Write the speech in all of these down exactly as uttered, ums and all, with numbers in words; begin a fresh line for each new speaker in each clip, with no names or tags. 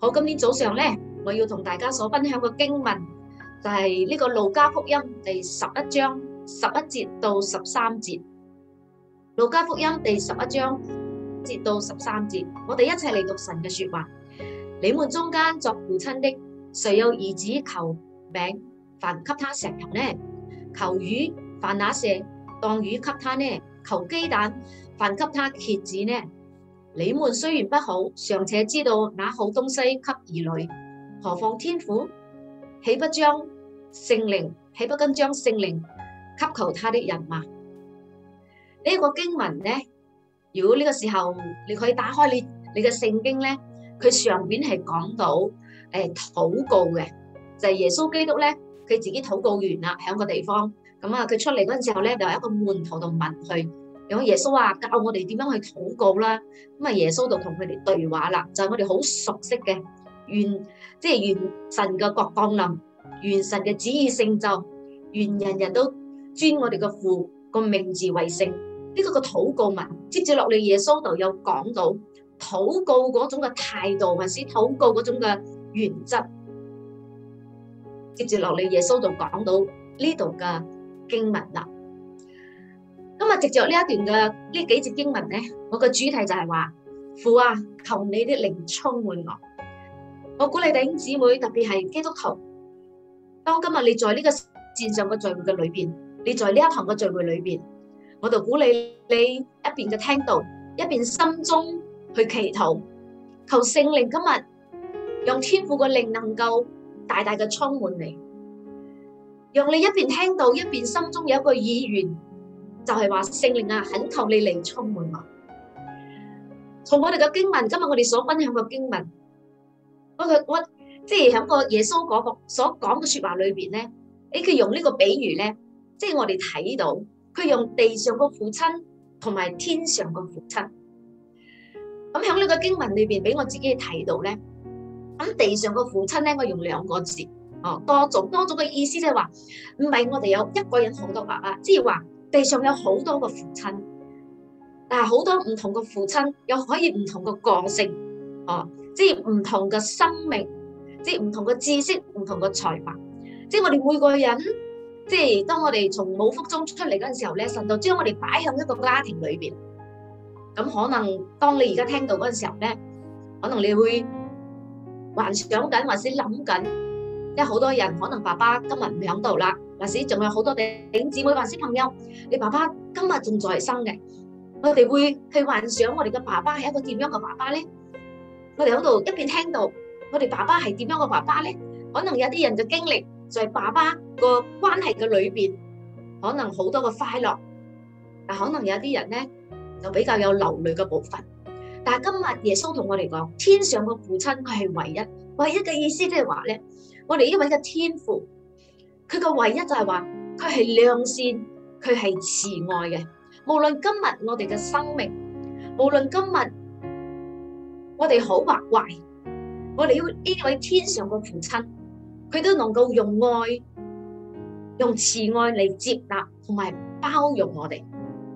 好，今天早上咧，我要同大家所分享嘅經文就係呢個路加福音第十一章十一節到十三節。路加福音第十一章節到十三節，我哋一齊嚟讀神嘅說話。你們中間作父親的，誰有兒子求餅，反給他石頭呢？求魚，反拿蛇當魚給他呢？求雞蛋，反給他蠍子呢？你們雖然不好，尚且知道拿好東西給兒女，何況天父？豈不將聖靈，豈不更將聖靈給求他的人嗎？呢、這個經文呢，如果呢個時候你可以打開你你嘅聖經呢，佢上邊係講到誒、呃、禱告嘅，就係、是、耶穌基督咧，佢自己禱告完啦，喺個地方咁啊，佢出嚟嗰陣時候咧，就有一個門徒度問佢。有耶穌話教我哋點樣去禱告啦，咁啊耶穌就同佢哋對話啦，就係我哋好熟悉嘅，願即係願神嘅國降臨，願神嘅旨意成就，願人人都尊我哋嘅父個名字為聖。呢個個禱告文，接住落嚟耶穌就有講到禱告嗰種嘅態度，還是禱告嗰種嘅原則。接住落嚟耶穌就講到呢度嘅經文啦。今日藉着呢一段嘅呢幾節經文咧，我嘅主題就係話父啊，求你的靈充滿我。我鼓勵弟兄姊妹，特別係基督徒，當今日你在呢個線上嘅聚會嘅裏邊，你在呢一堂嘅聚會裏邊，我就鼓勵你一邊嘅聽道，一邊心中去祈禱，求聖靈今日讓天父嘅靈能夠大大嘅充滿你，讓你一邊聽道，一邊心中有一個意願。就係話聖靈啊，懇求你嚟充滿我。從我哋嘅經文，今日我哋所分享嘅經文，我我即係喺個耶穌嗰個所講嘅說話裏邊咧，誒佢用呢個比喻咧，即係我哋睇到佢用地上個父親同埋天上個父親。咁喺呢個經文裏邊，俾我自己睇到咧，咁地上個父親咧，我用兩個字，哦，多種多種嘅意思，即係話唔係我哋有一個人好多爸爸，即係話。地上有好多個父親，但係好多唔同嘅父親又可以唔同嘅個性，哦，即係唔同嘅生命，即係唔同嘅知識，唔同嘅才華，即係我哋每個人，即係當我哋從母腹中出嚟嗰陣時候咧，神就將我哋擺向一個家庭裏邊。咁可能當你而家聽到嗰陣時候咧，可能你會幻想緊，或者諗緊，因為好多人可能爸爸今日唔喺度啦。或者仲有好多弟兄姊妹或者朋友，你爸爸今日仲在生嘅，我哋會去幻想我哋嘅爸爸係一個點樣嘅爸爸咧？我哋喺度一邊聽到我哋爸爸係點樣嘅爸爸咧？可能有啲人嘅經歷在爸爸個關係嘅裏邊，可能好多嘅快樂，但可能有啲人咧就比較有流淚嘅部分。但係今日耶穌同我哋講，天上嘅父親佢係唯一，唯一嘅意思即係話咧，我哋呢位嘅天父。佢個唯一就係話，佢係良善，佢係慈愛嘅。無論今日我哋嘅生命，無論今日我哋好或壞，我哋要呢位天上嘅父親，佢都能夠用愛、用慈愛嚟接納同埋包容我哋。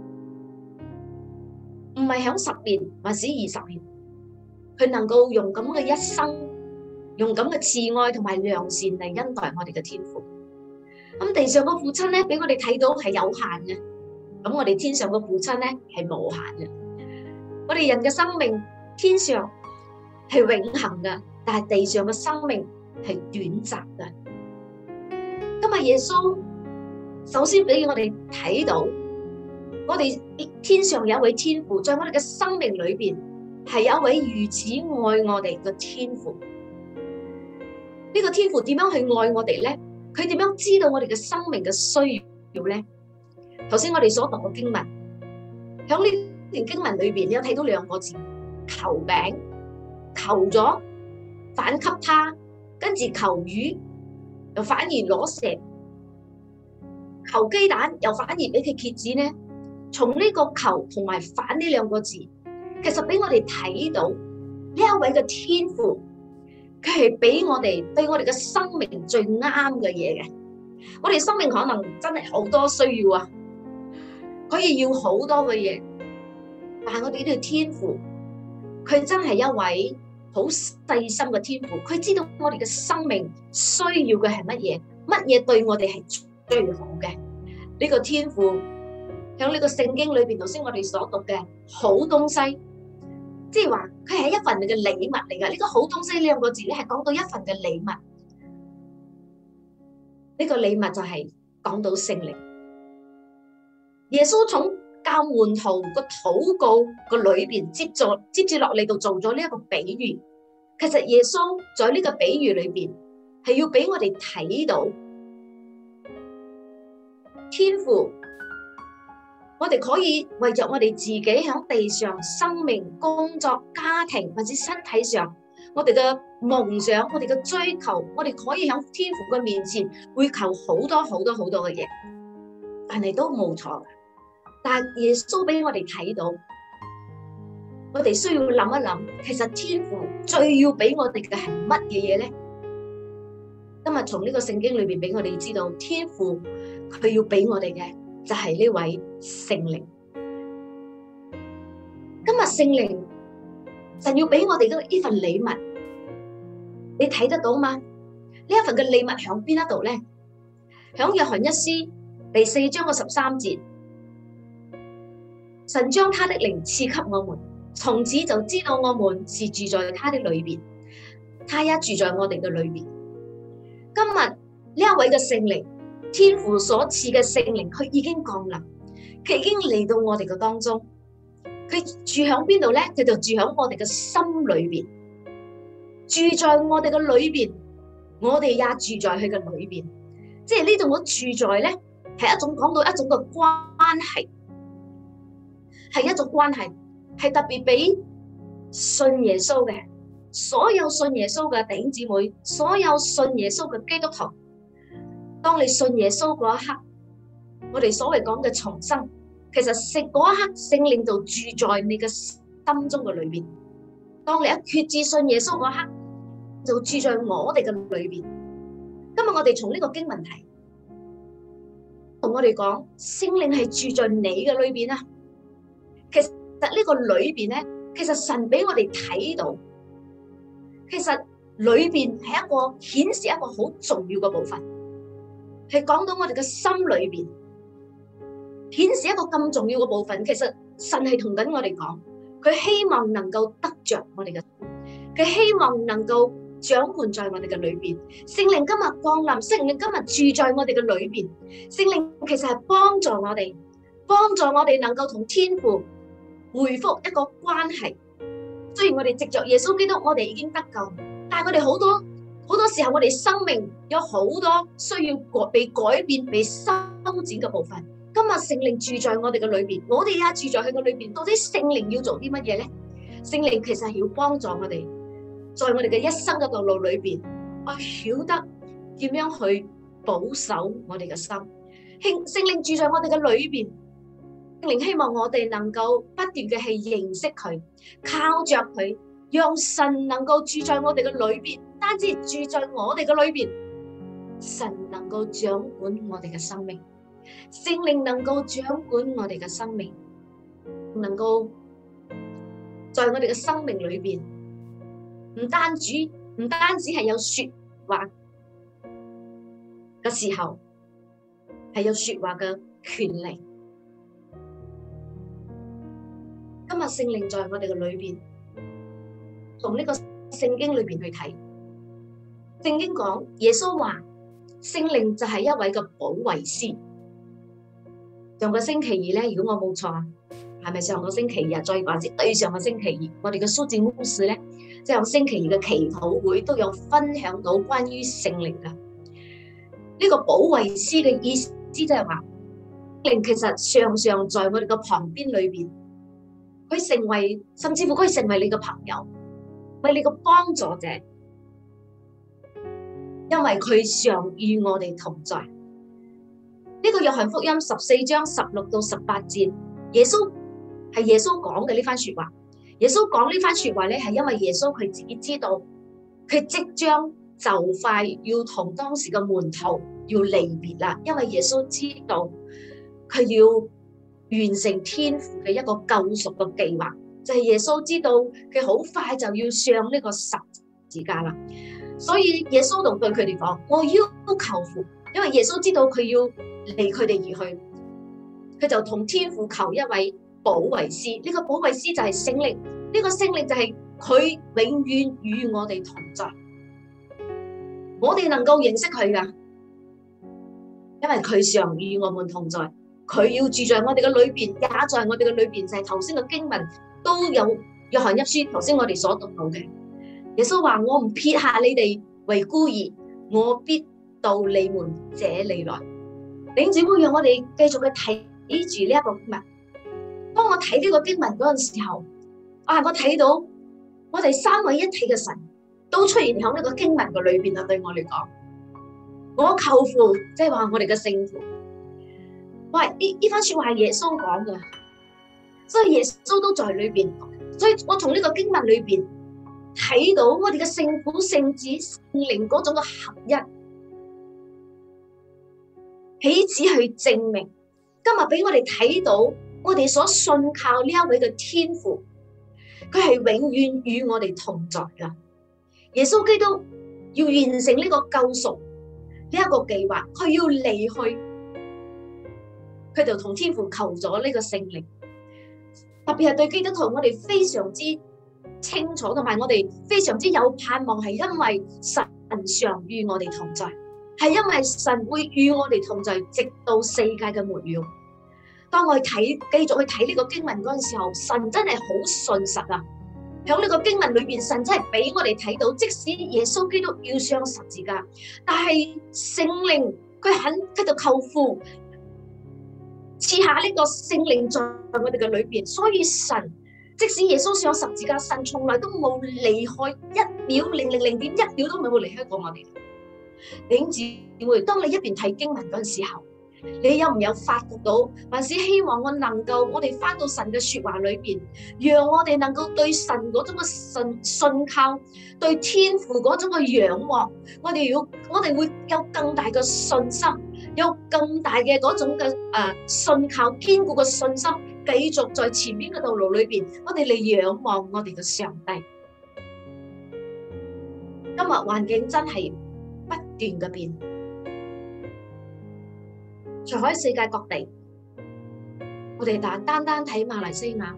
唔係響十年或者二十年，佢能夠用咁嘅一生，用咁嘅慈愛同埋良善嚟恩待我哋嘅天父。咁地上個父親咧，俾我哋睇到係有限嘅。咁我哋天上個父親咧係無限嘅。我哋人嘅生命天上係永恆嘅，但係地上嘅生命係短暫嘅。今日耶穌首先俾我哋睇到，我哋天上有一位天父，在我哋嘅生命裏邊係有一位如此愛我哋嘅天父。呢個天父點樣去愛我哋咧？佢點樣知道我哋嘅生命嘅需要咧？頭先我哋所讀嘅經文，喺呢段經文裏邊，你有睇到兩個字：求餅，求咗反給他，跟住求魚，又反而攞蛇；求雞蛋，又反而俾佢蠍子咧。從呢個求同埋反呢兩個字，其實俾我哋睇到呢一位嘅天父。佢係俾我哋對我哋嘅生命最啱嘅嘢嘅。我哋生命可能真係好多需要啊，可以要好多嘅嘢，但係我哋呢個天父，佢真係一位好細心嘅天父，佢知道我哋嘅生命需要嘅係乜嘢，乜嘢對我哋係最好嘅。呢個天父響呢個聖經裏邊，頭先我哋所讀嘅好東西，即係話佢係一份嘅禮物嚟噶。呢個好東西呢兩個字咧，係講到一份嘅禮物。呢個禮物就係講到聖靈。耶穌從教門徒個禱告個裏邊接咗接住落嚟，度做咗呢一個比喻。其實耶穌在呢個比喻裏邊係要俾我哋睇到天父，我哋可以為着我哋自己喺地上生命、工作、家庭或者身體上，我哋嘅夢想、我哋嘅追求，我哋可以喺天父嘅面前會求好多好多好多嘅嘢，但係都冇錯。但係耶穌俾我哋睇到，我哋需要諗一諗，其實天父最要俾我哋嘅係乜嘢嘢咧？今日從呢個聖經裏邊俾我哋知道，天父佢要俾我哋嘅就係呢位聖靈。今日聖靈神要俾我哋嘅呢份禮物，你睇得到嗎？呢一份嘅禮物響邊一度咧？響約翰一書第四章嘅十三節。神將他的靈賜給我們，從此就知道我們是住在他的裏邊，他也住在我哋嘅裏邊。今日呢一位嘅聖靈，天父所賜嘅聖靈，佢已經降臨，佢已經嚟到我哋嘅當中。佢住響邊度咧？佢就住響我哋嘅心裏邊，住在我哋嘅裏邊，我哋也住在佢嘅裏邊。即係呢種嘅住在咧，係一種講到一種嘅關係。係一種關係，係特別俾信耶穌嘅所有信耶穌嘅弟兄姊妹，所有信耶穌嘅基督徒。當你信耶穌嗰一刻，我哋所謂講嘅重生，其實聖嗰一刻聖靈就住在你嘅心中嘅裏邊。當你一決志信耶穌嗰一刻，就住在我哋嘅裏邊。今日我哋從呢個經文題同我哋講，聖靈係住在你嘅裏邊啊。其實呢個裏邊咧，其實神俾我哋睇到，其實裏邊係一個顯示一個好重要嘅部分，係講到我哋嘅心裏邊顯示一個咁重要嘅部分。其實神係同緊我哋講，佢希望能夠得着我哋嘅，佢希望能夠掌管在我哋嘅裏邊。聖靈今日降臨，聖靈今日住在我哋嘅裏邊。聖靈其實係幫助我哋，幫助我哋能夠同天父回復一個關係。雖然我哋藉着耶穌基督，我哋已經得救，但係我哋好多好多時候，我哋生命有好多需要被改變、被修剪嘅部分。今日聖靈住在我哋嘅裏邊，我哋也住在佢嘅裏邊。到底聖靈要做啲乜嘢咧？聖靈其實係要幫助我哋，在我哋嘅一生嘅道路裏邊，我曉得點樣去保守我哋嘅心。聖靈住在我哋嘅裏邊。聖靈希望我哋能夠不斷嘅去認識佢，靠着佢，讓神能夠住在我哋嘅裏邊，唔單止住在我哋嘅裏邊，神能夠掌管我哋嘅生命，聖靈能夠掌管我哋嘅生命，能夠在我哋嘅生命裏邊，唔單止唔單止係有說話嘅時候，係有說話嘅權利。今日聖靈在我哋嘅裏邊，從呢個聖經裏邊去睇，聖經講耶穌話聖靈就係一位嘅保惠師。上個星期二咧，如果我冇錯，係咪上個星期日再或者對上個星期二，我哋嘅蘇靜牧師咧，即係星期二嘅祈禱會都有分享到關於聖靈嘅呢個保惠師嘅意思，即係話聖靈其實常常在我哋嘅旁邊裏邊。佢成為，甚至乎佢成為你嘅朋友，為你嘅幫助者，因為佢常與我哋同在。呢、這個約翰福音十四章十六到十八節，耶穌係耶穌講嘅呢番說話。耶穌講呢番說話咧，係因為耶穌佢自己知道，佢即將就快要同當時嘅門徒要離別啦，因為耶穌知道佢要完成天父嘅一個救贖嘅計劃， 就係耶穌知道佢好快就要上呢個十字架啦，所以耶穌就對佢哋講：我要求父，因為耶穌知道佢要離佢哋而去，佢就同天父求一位保惠師。呢個保惠師就係聖靈，呢個聖靈就係佢永遠與我哋同在，我哋能夠認識佢噶，因為佢常與我們同在，佢要住在我哋嘅裏邊，也在我哋嘅裏邊。就係頭先嘅經文都有約翰一書頭先我哋所讀到嘅，耶穌話：我唔撇下你哋為孤兒，我必到你們這裏來。弟兄姊妹，讓我哋繼續去睇住呢一個經文。當我睇呢個經文嗰陣時候，啊，我睇到我哋三位一體嘅神都出現喺呢個經文嘅裏邊啊！對我嚟講，我求父，即係話我哋嘅聖父。喂，呢呢番說話係耶穌講嘅，所以耶穌都在裏邊。所以我從呢個經文裏邊睇到我哋嘅聖父、聖子、聖靈嗰種嘅合一，彼此去證明。今日俾我哋睇到，我哋所信靠呢一位嘅天父，佢係永遠與我哋同在噶。耶穌基督要完成呢個救贖呢一個計劃，佢要離去，佢就同天父求咗呢個聖靈。特別係對基督徒，我哋非常之清楚，同埋我哋非常之有盼望，係因為神常與我哋同在，係因為神會與我哋同在，直到世界嘅末了。當我睇繼續去睇呢個經文嗰陣時候，神真係好信實啊！喺呢個經文裏邊，神真係俾我哋睇到，即使耶穌基督要上十字架，但係聖靈佢肯喺度求父賜下呢個聖靈在我哋嘅裏邊，所以神即使耶穌上十字架，神從來都冇離開一秒零零零點一秒都冇離開過我哋。弟兄姊妹，當你一邊睇經文嗰陣時候，你有唔有發覺到，還是希望我能夠我哋翻到神嘅說話裏邊，讓我哋能夠對神嗰種嘅信信靠，對天父嗰種嘅仰望，我哋要我哋會有更大嘅信心，有更大嘅嗰種嘅誒信靠，堅固嘅信心，繼續在前面嘅道路裏邊，我哋嚟仰望我哋嘅上帝。今日環境真係不斷嘅變。除喺世界各地，我哋但單單睇馬來西亞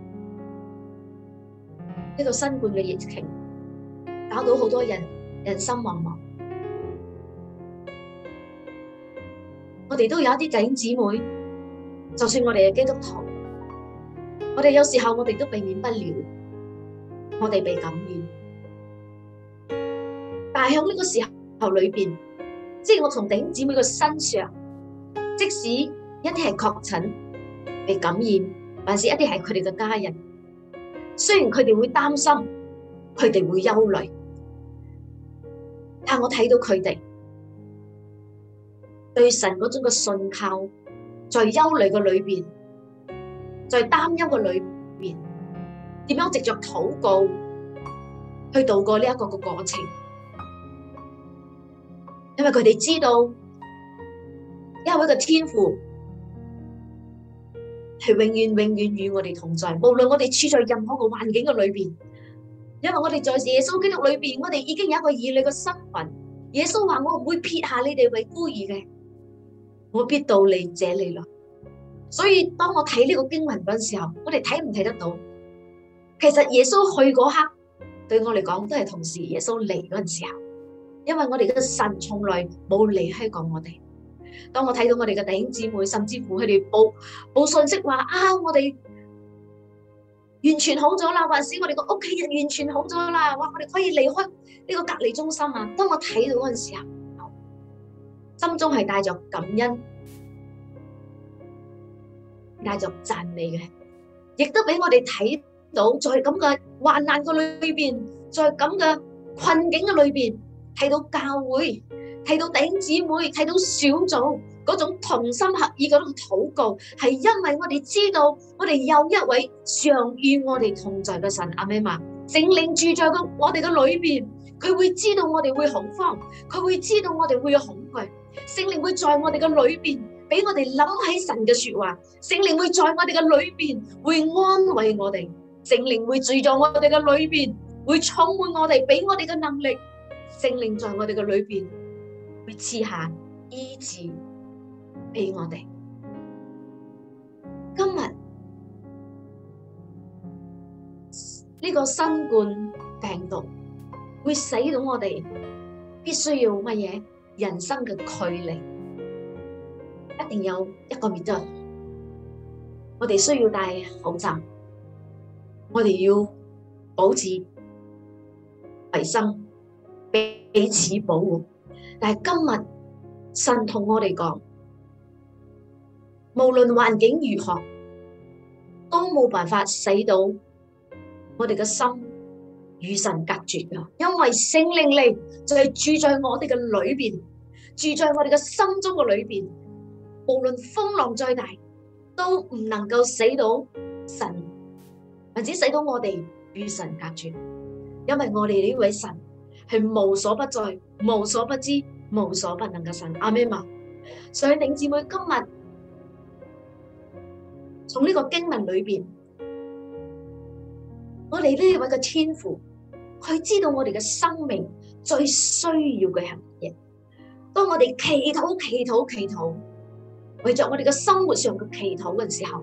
呢個新冠嘅疫情，搞到好多人人心惶惶。我哋都有一啲弟兄姊妹，就算我哋係基督徒，我哋有時候我哋都避免不了，我哋被感染。但係喺呢個時候裏邊，即係我從弟兄姊妹嘅身上。即使一啲係確診被感染，還是一啲係佢哋嘅家人，雖然佢哋會擔心，佢哋會憂慮，但我睇到佢哋對神嗰種嘅信靠，在憂慮嘅裏邊，在擔憂嘅裏邊，點樣藉着禱告去度過呢一個嘅過程，因為佢哋知道。因為一個天父係永遠永遠與我哋同在，無論我哋處在任何個環境嘅裏邊，因為我哋在耶穌基督裏邊，我哋已經有一個兒女嘅身份。耶穌話：我唔會撇下你哋為孤兒嘅，我必到你這裏來。所以當我睇呢個經文嗰陣時候，我哋睇唔睇得到？其實耶穌去嗰刻，對我嚟講都係同時耶穌嚟嗰陣時候，因為我哋嘅神從來冇離開過我哋。當我睇到我哋嘅弟兄姊妹，甚至乎佢哋報報信息話啊，我哋完全好咗啦，還是我哋個屋企人完全好咗啦，哇，我哋可以離開呢個隔離中心啊！當我睇到嗰陣時候，心中係帶着感恩，帶着讚美嘅，亦都俾我哋睇到，在咁嘅患難嘅裏邊，在咁嘅困境嘅裏邊，睇到教會。睇到弟兄姊妹，睇到小組嗰種同心合意嗰種禱告，係因為我哋知道我哋有一位常與我哋同在嘅神。阿們嘛，聖靈住在個我哋嘅裏邊，佢會知道我哋會恐慌，佢會知道我哋會有恐懼。聖靈會在我哋嘅裏邊，俾我哋諗起神嘅說話。聖靈會在我哋嘅裏邊會安慰我哋， 聖靈會住在我哋嘅裏邊，會充滿我哋，俾我哋嘅能力。聖靈在我哋嘅裏邊會賜下醫治俾我哋。今日呢個新冠病毒會使到我哋必須要乜嘢？人生嘅距離一定有一個 meter，我哋需要戴口罩，我哋要保持衛生，彼此保護。但係今日神同我哋講，無論環境如何，都冇辦法使到我哋嘅心與神隔絕㗎，因為聖靈嚟就係住在我哋嘅裏邊，住在我哋嘅心中嘅裏邊，無論風浪再大，都唔能夠使到神，或者使到我哋與神隔絕，因為我哋呢位神係無所不在、無所不知、無所不能嘅神。阿們嘛，所以弟兄姊妹，今日從呢個經文裏邊，我哋呢位嘅天父，佢知道我哋嘅生命最需要嘅係乜嘢。當我哋祈禱、祈禱、祈禱，為着我哋嘅生活上嘅祈禱嘅時候，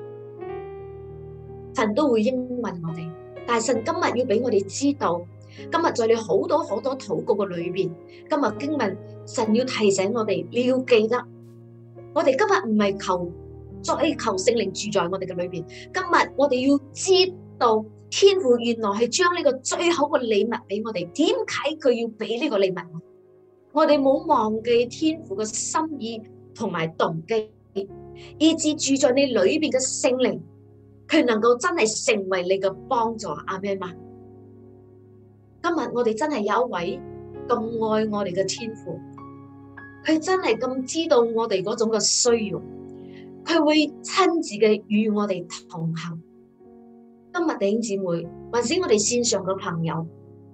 神都會應允我哋。但係神今日要俾我哋知道，今日在你好多好多禱告嘅裏邊，今日經文神要提醒我哋，你要記得，我哋今日唔係求再求聖靈住在我哋嘅裏邊，今日我哋要知道。天父原來係將呢個最好嘅禮物俾我哋，點解佢要俾呢個禮物？我哋冇忘記天父嘅心意同埋動機，以至住在你裏邊嘅聖靈，佢能夠真係成為你嘅幫助。阿們嘛，今日我哋真係有一位咁愛我哋嘅天父，佢真係咁知道我哋嗰種嘅需要，佢會親自嘅與我哋同行。今日弟兄姊妹，還是我哋線上嘅朋友，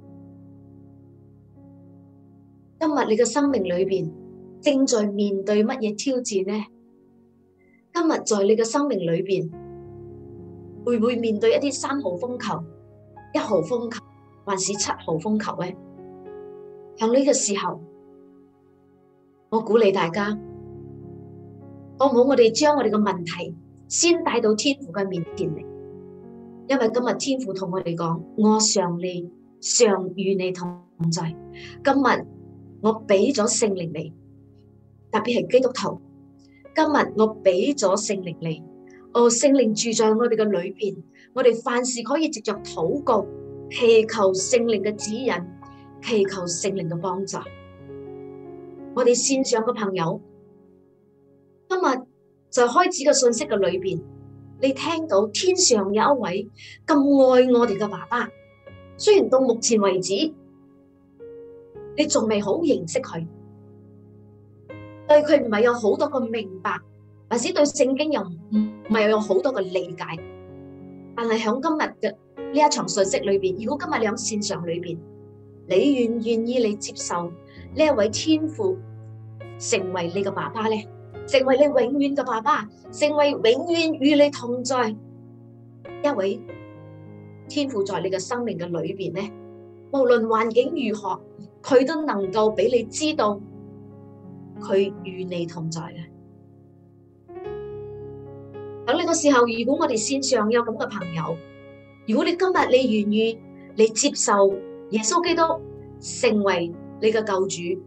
今日你嘅生命裏邊正在面對乜嘢挑戰呢？今日在你嘅生命裏邊，會唔會面對一啲三號風球、一號風球，還是七號風球呢？喺呢個時候，我鼓勵大家，好唔好？我哋將我哋嘅問題先帶到天父嘅面前嚟。因為今日天父同我哋講，我常你常與你同在。今日我俾咗聖靈你，特別係基督徒。今日我俾咗聖靈你，哦，聖靈住在我哋嘅裏邊，我哋凡事可以藉着禱告，祈求聖靈嘅指引，祈求聖靈嘅幫助。我哋線上嘅朋友，今日在開始嘅信息嘅裏邊。你聽到天上有一位咁愛我哋嘅爸爸，雖然到目前為止，你仲未好認識佢，對佢唔係有好多個明白，或者對聖經又唔唔係有好多個理解，但係喺今日嘅呢一場信息裏邊，如果今日你喺線上裏邊，你願唔願意你接受呢一位天父成為你嘅爸爸咧？成為你永遠嘅爸爸，成為永遠與你同在一位天父，在你嘅生命嘅裏邊咧，無論環境如何，佢都能夠俾你知道佢與你同在嘅。喺呢個時候，如果我哋線上有咁嘅朋友，如果你今日你願意你接受耶穌基督成為你嘅救主，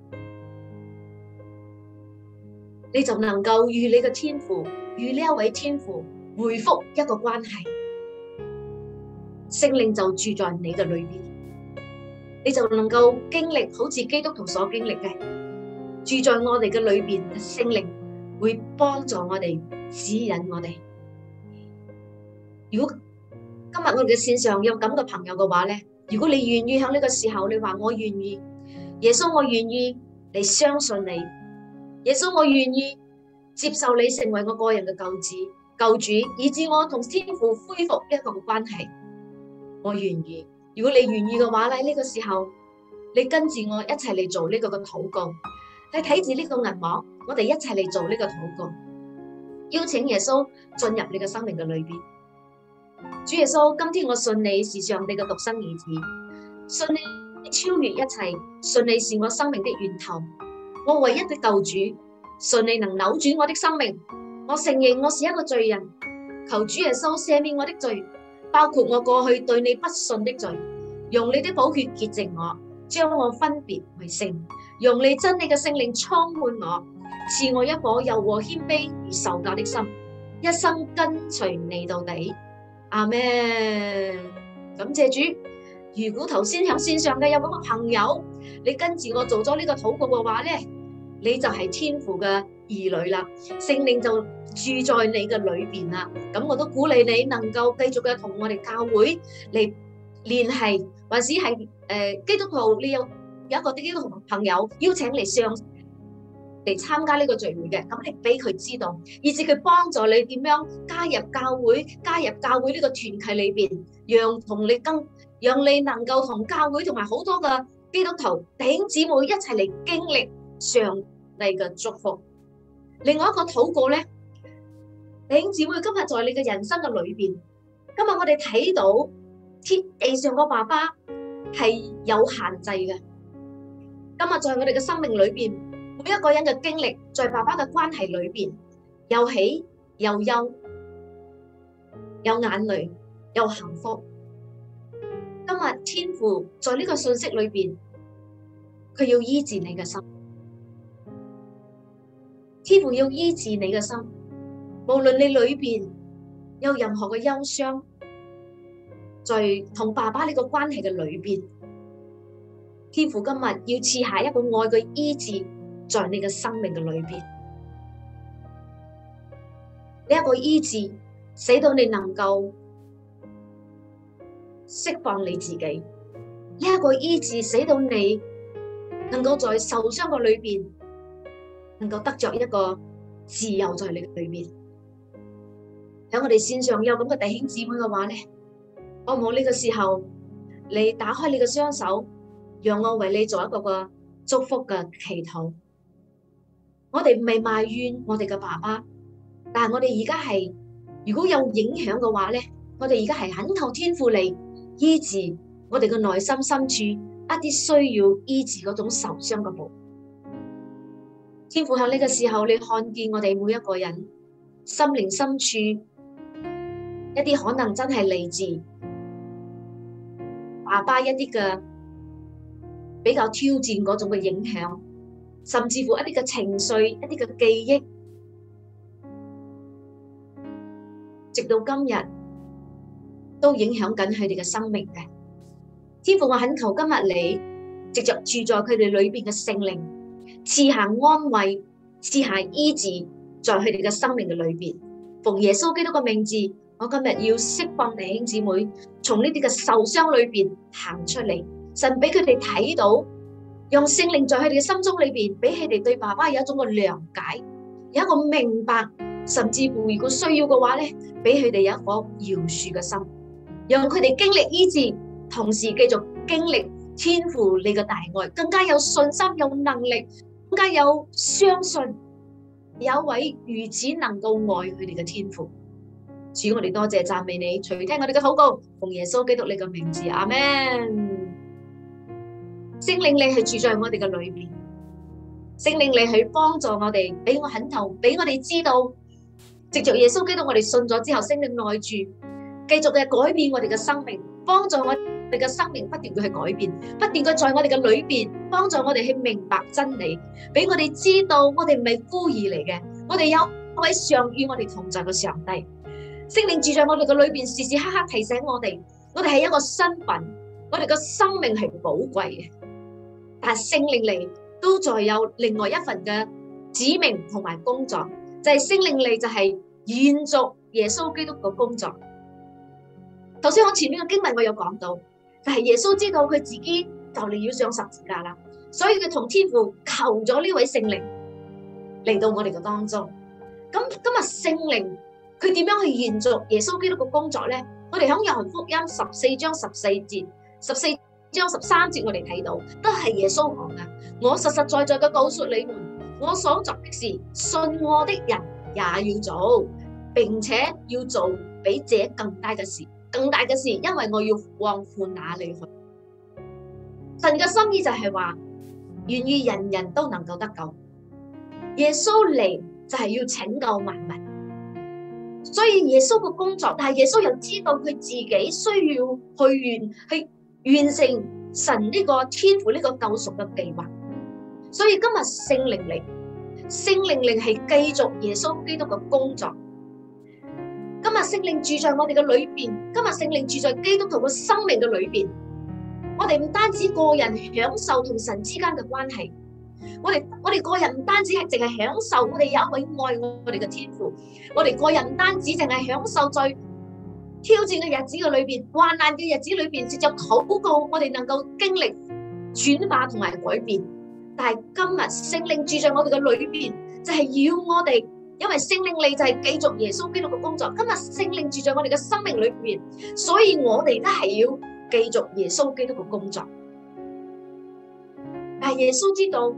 你就能夠與你嘅天父，與呢一位天父回復一個關係，聖靈就住在你嘅裏邊，你就能夠經歷好似基督徒所經歷嘅，住在我哋嘅裏邊，聖靈會幫助我哋，指引我哋。如果今日我哋嘅線上有咁嘅朋友嘅話咧，如果你願意喺呢個時候，你話我願意，耶穌我願意，你相信你。耶穌，我願意接受你成為我個人嘅救主，救主，以致我同天父恢復呢一個關係。我願意。如果你願意嘅話咧，呢個時候你跟住我一齊嚟做呢個嘅禱告。你睇住呢個銀幕，我哋一齊嚟做呢個禱告，邀請耶穌進入你嘅生命嘅裏邊。 主耶穌，今天我信你是上帝嘅獨生兒子，信你超越一切，信你是我生命的源頭，我唯一的救主，信你能扭轉我的生命。我承認我是一個罪人，求主耶穌赦免我的罪，包括我過去對你不信的罪，用你的寶血潔淨我，將我分別為聖，用你真理嘅聖靈充滿我，賜我一顆柔和謙卑而受教的心，一生跟隨你到底。阿們，感謝主。如果頭先喺線上嘅有嗰個朋友，你跟住我做咗呢個禱告嘅話咧，你就係天父嘅兒女啦，聖靈就住在你嘅裏邊啦。咁我都鼓勵你能夠繼續嘅同我哋教會嚟聯繫，或者係誒基督徒，你有有一個基督徒朋友邀請你上嚟參加呢個聚會嘅，咁你俾佢知道，以至佢幫助你點樣加入教會，加入教會呢個團契裏邊，讓同你更，讓你能夠同教會同埋好多嘅基督徒弟兄姊妹一齊嚟經歷上帝嘅祝福。另外一個禱告咧，弟兄姊妹今日在你嘅人生嘅裏邊，今日我哋睇到天地上個爸爸係有限制嘅，今日在我哋嘅生命裏邊。每一個人嘅經歷，在爸爸嘅關係裏邊，有喜有憂，有眼淚，有幸福。今日天父在呢個信息裏邊，佢要醫治你嘅心，天父要醫治你嘅心。無論你裏邊有任何嘅憂傷，在同爸爸呢個關係嘅裏邊，天父今日要賜下一個愛嘅醫治。在你嘅生命嘅裏邊，呢一個醫治，使到你能夠釋放你自己；呢一個醫治，使到你能夠在受傷嘅裏邊，能夠得着一個自由在你嘅裏邊。喺我哋線上有咁嘅弟兄姊妹嘅話咧，好唔好呢個時候，你打開你嘅雙手，讓我為你做一個個祝福嘅祈禱。我哋唔係埋怨我哋嘅爸爸，但係我哋而家係，如果有影響嘅話咧，我哋而家係懇求天父嚟醫治我哋嘅內心深處一啲需要醫治嗰種受傷嘅部分。天父喺呢個時候，你看見我哋每一個人心靈深處一啲可能真係嚟自爸爸一啲嘅比較挑戰嗰種嘅影響。甚至乎一啲嘅情緒、一啲嘅記憶，直到今日都影響緊佢哋嘅生命嘅。天父，我懇求今日你藉着住在佢哋裏邊嘅聖靈，賜下安慰，賜下醫治，在佢哋嘅生命嘅裏邊。奉耶穌基督嘅名字，我今日要釋放弟兄姊妹從呢啲嘅受傷裏邊行出嚟，神俾佢哋睇到。用聖靈在佢哋嘅心中裏邊，俾佢哋對爸爸有一種嘅諒解，有一個明白，甚至乎如果需要嘅話咧，俾佢哋有一顆饒恕嘅心，讓佢哋經歷醫治，同時繼續經歷天父你嘅大愛，更加有信心、有能力，更加有相信有一位如此能夠愛佢哋嘅天父。主，我哋多謝讚美你，垂聽我哋嘅禱告，奉耶穌基督你嘅名字，阿們。聖靈你係住在我哋嘅裏邊，聖靈你去幫助我哋，俾我懇求，俾我哋知道，藉着耶穌基督我哋信咗之後，聖靈內住，繼續嘅改變我哋嘅生命，幫助我哋嘅生命不斷嘅去改變，不斷嘅在我哋嘅裏邊幫助我哋去明白真理，俾我哋知道我哋唔係孤兒嚟嘅，我哋有一位常與我哋同在嘅上帝。聖靈住在我哋嘅裏邊，時時刻刻提醒我哋，我哋係一個身份，我哋嘅生命係寶貴嘅。但係聖靈嚟都再有另外一份嘅指命同埋工作，就係聖靈嚟就係延續耶穌基督嘅工作。頭先我前面嘅經文我有講到，就係耶穌知道佢自己就嚟要上十字架啦，所以佢同天父求咗呢位聖靈嚟到我哋嘅當中。咁今日聖靈佢點樣去延續耶穌基督嘅工作咧？我哋喺約翰福音十四章十四節、十四章十三節我哋睇到，都係耶穌講嘅。我實實在在嘅告訴你們，我所作的事，信我的人也要做，並且要做比這更大嘅事，更大嘅事，因為我要往父那裏去。神嘅心意就係話，願意人人都能夠得救。耶穌嚟就係要拯救萬民，所以耶穌嘅工作，但係耶穌又知道佢自己需要去完去完成神呢個天父呢個救贖嘅計劃。所以今日聖靈嚟，聖靈嚟係繼續耶穌基督嘅工作。今日聖靈住在我哋嘅裏邊，今日聖靈住在基督徒嘅生命嘅裏邊。我哋唔單止個人享受同神之間嘅關係，我哋我哋個人唔單止係淨係享受，我哋有一位愛我哋嘅天父。我哋個人唔單止淨係享受在挑戰嘅日子嘅裏邊，患難嘅日子裏邊，藉着禱告，我哋能夠經歷轉化同埋改變。但係今日聖靈住在我哋嘅裏邊，就係要我哋，因為聖靈嚟就係繼續耶穌基督嘅工作。今日聖靈住在我哋嘅生命裏邊，所以我哋都係要繼續耶穌基督嘅工作。但係耶穌知道，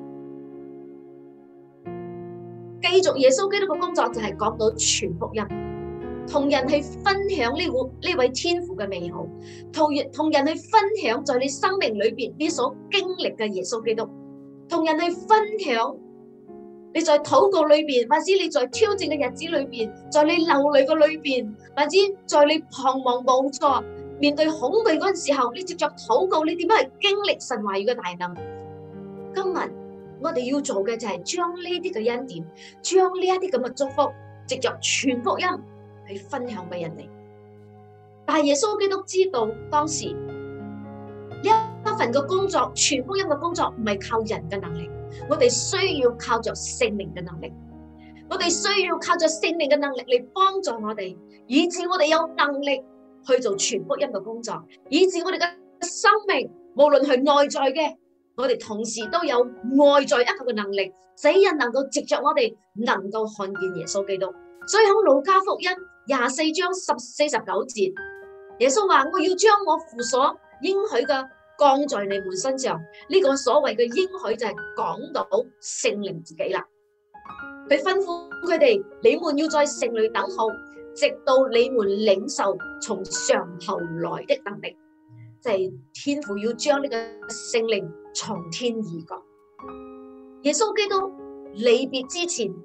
繼續耶穌基督嘅工作就係講到傳福音，同人去分享呢個呢位天父嘅美好，同人同人去分享在你生命裏邊你所經歷嘅耶穌基督，同人去分享你在禱告裏邊，或者你在挑戰嘅日子裏邊，在你流淚嘅裏邊，或者在你彷徨無助、面對恐懼嗰陣時候，你藉着禱告，你點樣去經歷神話語嘅大能？今日我哋要做嘅就係將呢啲嘅恩典，將呢一啲咁嘅祝福，藉着傳福音去分享俾人哋。但係耶穌基督知道當時呢一份嘅工作，傳福音嘅工作唔係靠人嘅能力，我哋需要靠着聖靈嘅能力，我哋需要靠着聖靈嘅能力嚟幫助我哋，以致我哋有能力去做傳福音嘅工作，以致我哋嘅生命無論係內在嘅，我哋同時都有外在一個嘅能力，使人能夠藉着我哋能夠看見耶穌基督。所以喺路加福音廿四章十四十九節，耶穌話：我要將我父所應許嘅降在你們身上。呢、這個所謂嘅應許就係講到聖靈自己啦。佢吩咐佢哋：你們要在城裏等候，直到你們領受從上頭來的能力。就係、是、天父要將呢個聖靈從天而降。耶穌基督離別之前，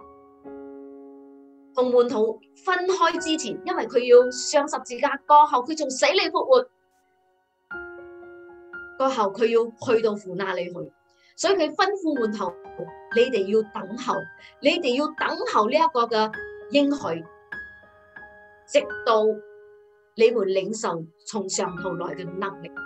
同門徒分開之前，因為佢要上十字架過後，佢從死裏復活過後，佢要去到父那裏去，所以佢吩咐門徒：你哋要等候，你哋要等候呢一個嘅應許，直到你們領受從上頭來嘅能力。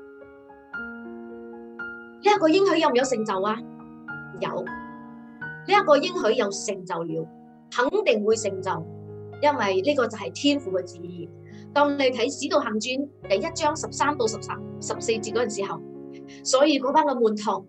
呢、這、一個應許有唔有成就啊？有，呢、這、一個應許有成就了，肯定會成就，因為呢個就係天父嘅旨意。當你睇《使徒行傳》第一章十三到十三十四節嗰陣時候，所以嗰班嘅門徒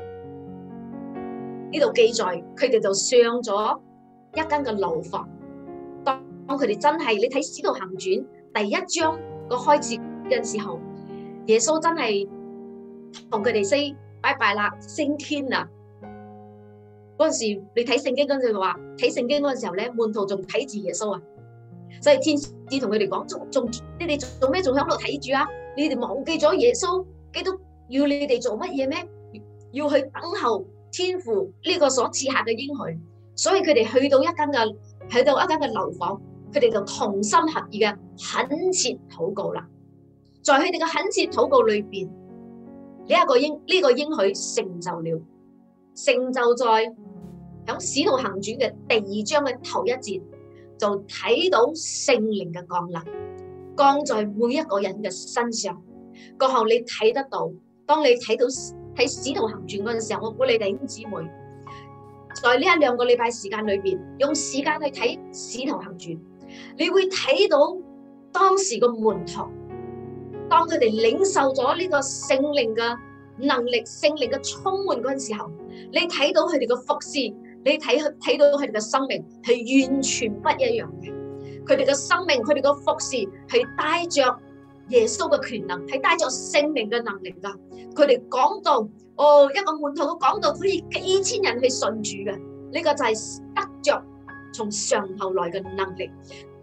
呢度記載，佢哋就上咗一間嘅樓房。當佢哋真係，你睇《使徒行傳》第一章個開始嘅時候，耶穌真係同佢哋 say 拜拜啦，升天啦。嗰陣時你睇聖經嗰陣時話，睇聖經嗰陣時候咧，門徒仲睇住耶穌啊，所以天使同佢哋講：仲仲你哋做咩仲喺度睇住啊？你哋忘記咗耶穌基督要你哋做乜嘢咩？要去等候天父呢個所賜下嘅應許。所以佢哋去到一間嘅去到一間嘅樓房，佢哋就同心合意嘅懇切禱告啦。在佢哋嘅懇切禱告裏邊，呢一個應呢個應許成就了，成就在喺《使徒行傳》嘅第二章嘅頭一節，就睇到聖靈嘅降臨，降在每一個人嘅身上。過後你睇得到，當你睇到喺《使徒行傳》嗰陣時候，我鼓勵弟兄姊妹，在呢一兩個禮拜時間裏邊，用時間去睇《使徒行傳》，你會睇到當時個門徒，當佢哋領受咗呢個聖靈嘅能力、聖靈嘅充滿嗰陣時候，你睇到佢哋嘅服侍，你睇睇到佢哋嘅生命係完全不一樣嘅。佢哋嘅生命，佢哋嘅服侍係帶着耶穌嘅權能，係帶着聖靈嘅能力噶。佢哋講到，哦，一個門徒都講到可以幾千人去信主嘅，呢個就係得着從上頭來嘅能力。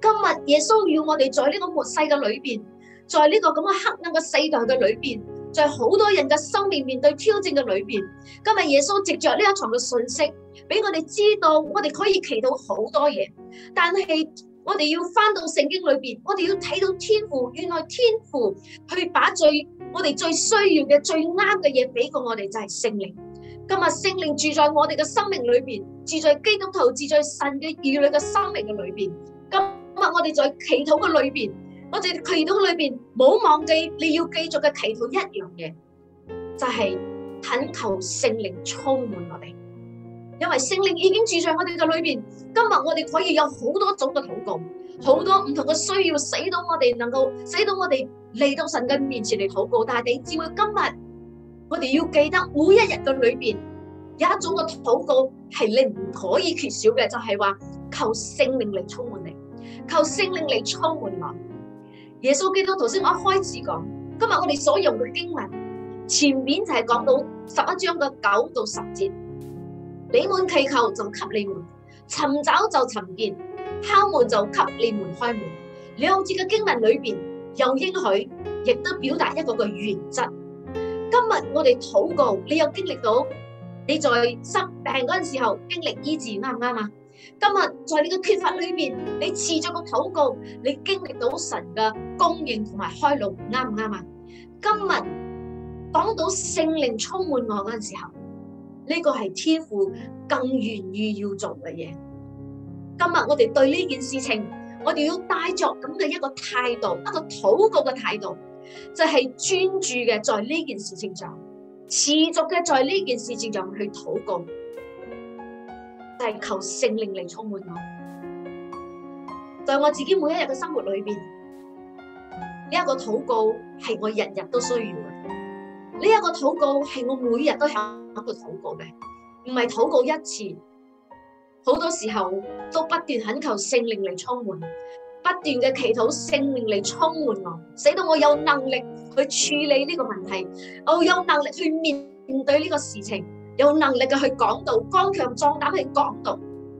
今日耶穌要我哋在呢個末世嘅裏邊，在呢個咁嘅黑暗嘅世代嘅裏邊，在好多人嘅生命面對挑戰嘅裏邊，今日耶穌藉着呢一場嘅信息，俾我哋知道我哋可以祈禱好多嘢，但係我哋要翻到聖經裏邊，我哋要睇到天父，原來天父去把最我哋最需要嘅最啱嘅嘢俾過我哋，就係聖靈。今日聖靈住在我哋嘅生命裏邊，住在基督徒，住在神嘅兒女嘅生命嘅裏邊。今日我哋在祈禱嘅裏邊，我哋祈禱裏邊冇忘記你要繼續嘅祈禱一樣嘢，就係懇求聖靈充滿我哋。因為聖靈已經住在我哋嘅裏邊，今日我哋可以有好多種嘅禱告，好多唔同嘅需要，使到我哋能夠使到我哋嚟到神嘅面前嚟禱告。但係你知唔知今日我哋要記得每一日嘅裏邊有一種嘅禱告係你唔可以缺少嘅，就係話求聖靈嚟充滿你，求聖靈嚟充滿我。耶穌基督頭先我一開始講，今日我哋所用嘅經文前面就係講到十一章嘅九到十節。你們祈求就給你們，尋找就尋見，敲門就給你們開門。兩節嘅經文裏邊有應許，亦都表達一個嘅原則。今日我哋禱告，你有經歷到你在生病嗰陣時候經歷醫治，啱唔啱啊？今日在你嘅缺乏裏邊，你持續個禱告，你經歷到神嘅供應同埋開路，啱唔啱啊？今日講到聖靈充滿我嗰陣時候，呢個係天父更願意要做嘅嘢。今日我哋對呢件事情，我哋要帶着咁嘅一個態度，一個禱告嘅態度，就係專注嘅在呢件事情上，持續嘅在呢件事情上去禱告，就係求聖靈嚟充滿我。在我自己每一日嘅生活裏邊，呢一個禱告係我日日都需要嘅。呢一個禱告係我每日都有一個禱告嘅，唔係禱告一次，好多時候都不斷懇求聖靈嚟充滿，不斷嘅祈禱聖靈嚟充滿我，使到我有能力去處理呢個問題，我有能力去面對呢個事情，有能力嘅去講道，剛強壯膽去講道。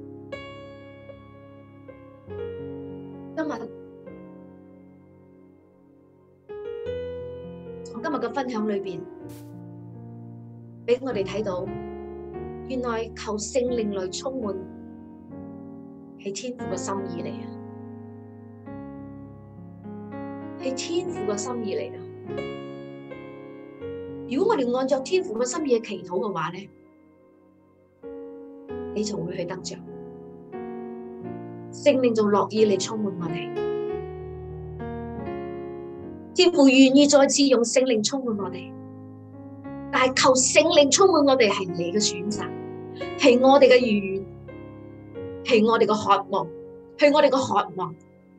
今日我今日嘅分享裏邊，俾我哋睇到，原來求聖靈來充滿係天父嘅心意嚟啊！係天父嘅心意嚟啊！如果我哋按照天父嘅心意去祈禱嘅話咧，你就會去得着聖靈，就樂意嚟充滿我哋。天父願意再次用聖靈充滿我哋。但係求聖靈充滿我哋係你嘅選擇，係我哋嘅意願，係我哋嘅渴望，係我哋嘅渴望。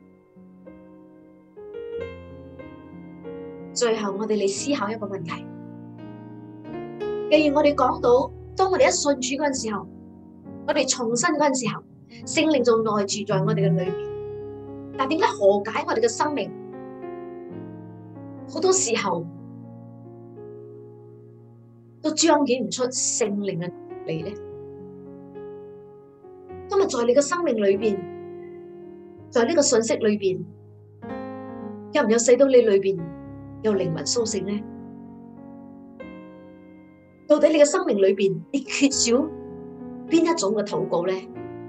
最後我哋嚟思考一個問題：既然我哋講到，當我哋一信主嗰陣時候，我哋重生嗰陣時候，聖靈就內住在我哋嘅裏邊。但點解何解我哋嘅生命好多時候都彰顯唔出聖靈嘅能力咧？今日在你嘅生命裏邊，在呢個信息裏邊，有唔有使到你裏邊有靈魂甦醒咧？到底你嘅生命裏邊，你缺少邊一種嘅禱告咧？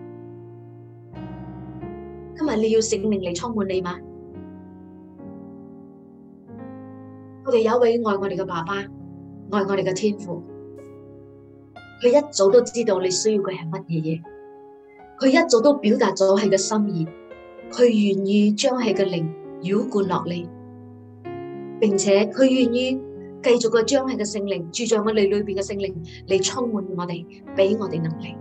今日你要聖靈嚟充滿你嗎？我哋有一位愛我哋嘅爸爸，愛我哋嘅天父，佢一早都知道你需要嘅係乜嘢嘢，佢一早都表達咗佢嘅心意，佢願意將佢嘅靈澆灌落嚟，並且佢願意繼續嘅將佢嘅聖靈住在我哋裏邊嘅聖靈嚟充滿我哋，俾我哋能力。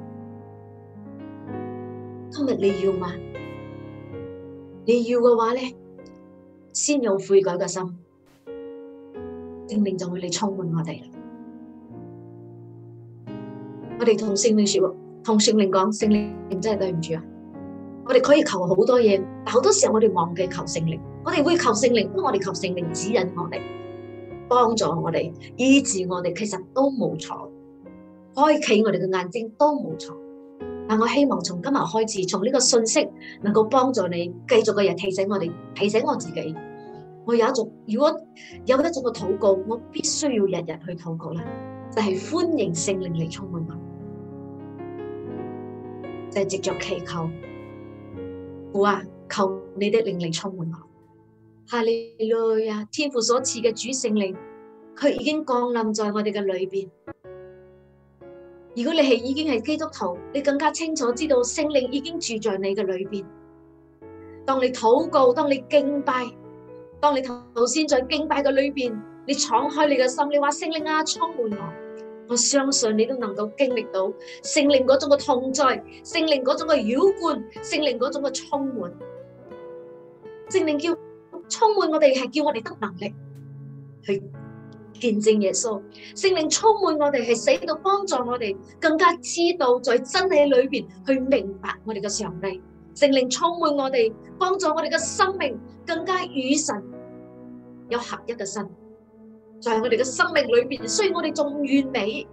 今日你要嗎？你要嘅話咧，先有悔改嘅心，聖靈就會嚟充滿我哋啦。我哋同聖靈說，同聖靈講，聖靈真係對唔住啊！我哋可以求好多嘢，但好多時候我哋忘記求聖靈。我哋會求聖靈，不過我哋求聖靈指引我哋，幫助我哋，醫治我哋，其實都冇錯。開啟我哋嘅眼睛都冇錯。 但我希望從今日開始，從呢個信息能夠幫助你繼續嘅日提醒我哋，提醒我自己，我有一種如果有一種嘅禱告，我必須要日日去禱告啦，就係歡迎聖靈嚟充滿我，就係藉着祈求，父啊，求你的靈嚟充滿我。哈利路亞，天父所賜嘅主聖靈，佢已經降臨在我哋嘅裏邊。如果你係已經係基督徒，你更加清楚知道聖靈已經住在你嘅裏邊。當你禱告，當你敬拜，當你頭先在敬拜嘅裏邊，你敞開你嘅心，你話聖靈啊，充滿我，我相信你都能夠經歷到聖靈嗰種嘅同在，聖靈嗰種嘅澆灌，聖靈嗰種嘅充滿。聖靈叫充滿我哋，係叫我哋得能力去見證耶穌。聖靈充滿我哋，係使到幫助我哋更加知道在真理裏邊去明白我哋嘅上帝。聖靈充滿我哋，幫助我哋嘅生命更加與神有合一嘅身。在我哋嘅生命裏邊，雖然我哋仲唔完美，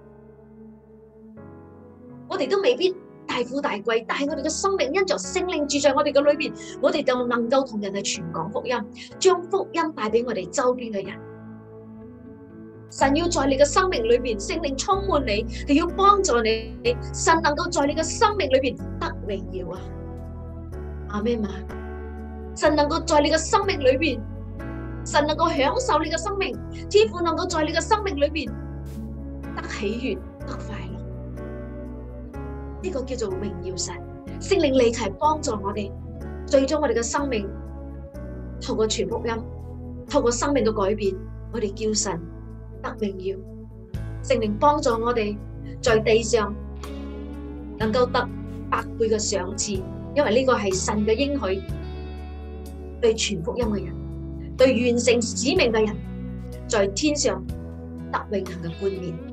我哋都未必大富大貴，但係我哋嘅生命因着聖靈住在我哋嘅裏邊，我哋就能夠同人去傳講福音，將福音帶俾我哋周邊嘅人。神要在你嘅生命裏邊，聖靈充滿你，係要幫助你，神能夠在你嘅生命裏邊得榮耀啊！阿們嘛，神能夠在你嘅生命裏邊，神能夠享受你嘅生命，天父能夠在你嘅生命裏邊得喜悅、得快樂。呢個叫做榮耀神，聖靈嚟齊幫助我哋，最終我哋嘅生命透過傳福音，透過生命嘅改變，我哋叫神得榮耀。聖靈幫助我哋在地上能夠得百倍嘅賞賜，因為呢個係神嘅應許，對傳福音嘅人，對完成使命嘅人，在天上得永恆嘅冠冕。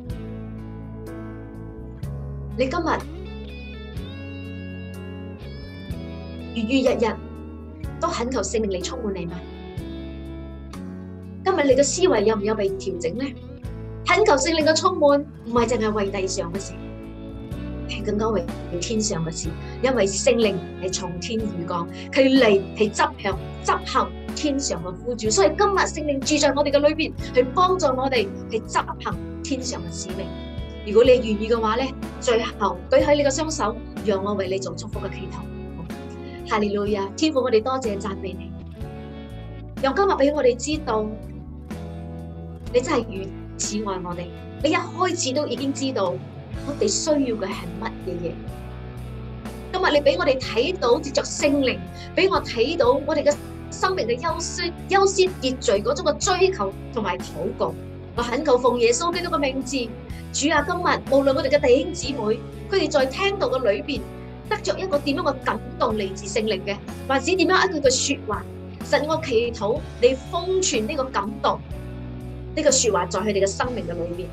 你今日如如日日都懇求聖靈嚟充滿你嗎？今日你嘅思維有唔有被調整呢？懇求聖靈嘅充滿，唔係淨係為地上嘅事，係更加為天上嘅事。因為聖靈係從天而降，佢嚟係執行執行天上嘅呼召，所以今日聖靈住在我哋嘅裏邊，去幫助我哋去執行天上嘅使命。如果你願意嘅話咧，最後舉起你嘅雙手，讓我為你做祝福嘅祈禱。哈利路亞，天父，我哋多謝讚美你，讓今日俾我哋知道，你真係如此愛我哋。你一開始都已經知道我哋需要嘅係乜嘢嘢。今日你俾我哋睇到，藉着聖靈俾我睇到我哋嘅生命嘅優先優先秩序嗰種嘅追求同埋禱告。我懇求奉耶穌基督嘅名字，主啊，今日無論我哋嘅弟兄姊妹，佢哋在聽道嘅裏邊得着一個點樣嘅感動嚟自聖靈嘅，或者點樣一句嘅說話，神，我祈禱你封存呢個感動，呢個說話在佢哋嘅生命嘅裏邊。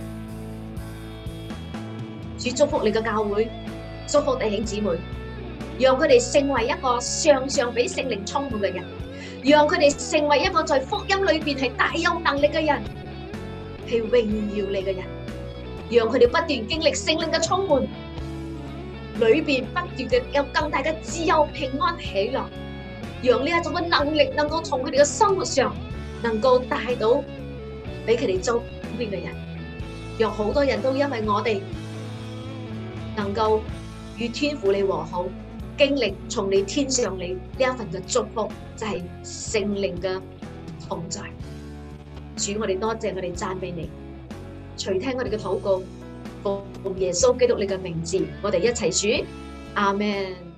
主祝福你嘅教會，祝福弟兄姊妹，讓佢哋成為一個常常俾聖靈充滿嘅人，讓佢哋成為一個在福音裏邊係大有能力嘅人，係榮耀你嘅人，讓佢哋不斷經歷聖靈嘅充滿，裏邊不斷嘅有更大嘅自由、平安、喜樂，讓呢一種嘅能力能夠從佢哋嘅生活上能夠帶到俾佢哋周邊嘅人，讓好多人都因為我哋能夠與天父你和好，經歷從你天上你呢一份嘅祝福，就係聖靈嘅同在。主，我哋多謝，我哋讚美你，垂聽我哋嘅禱告，奉耶穌基督你嘅名字，我哋一齊說阿們。